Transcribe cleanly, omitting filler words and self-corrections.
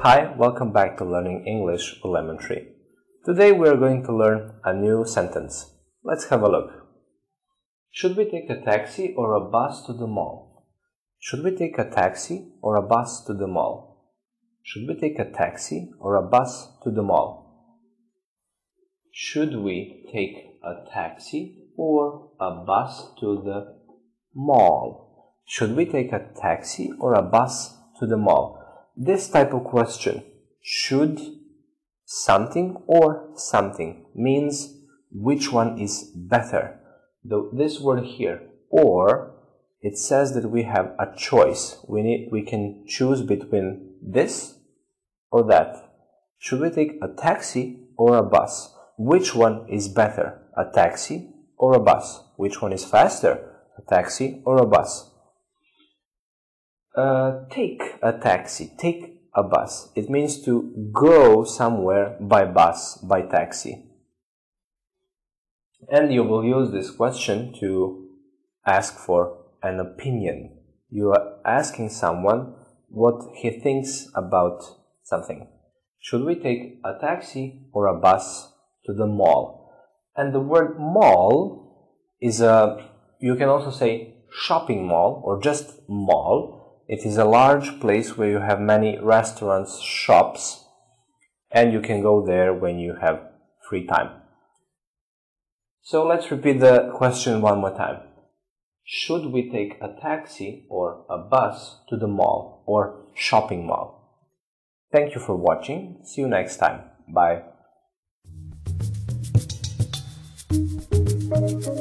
Hi, welcome back to Learning English with Lemon Tree. Today we are going to learn a new sentence. Let's have a look. Should we take a taxi or a bus to the mall? Should we take a taxi or a bus to the mall? Should we take a taxi or a bus to the mall? Should we take a taxi or a bus to the mall? Should we take a taxi or a bus to the mall? This type of question, should something or something, means which one is better. This word here, or, it says that we have a choice. We can choose between this or that. Should we take a taxi or a bus? Which one is better, a taxi or a bus? Which one is faster, a taxi or a bus? Take a taxi, take a bus. It means to go somewhere by bus, by taxi. And you will use this question to ask for an opinion. You are asking someone what he thinks about something. Should we take a taxi or a bus to the mall? And the word mall is you can also say shopping mall or just mall. It is a large place where you have many restaurants, shops, and you can go there when you have free time. So let's repeat the question one more time. Should we take a taxi or a bus to the mall or shopping mall? Thank you for watching. See you next time. Bye.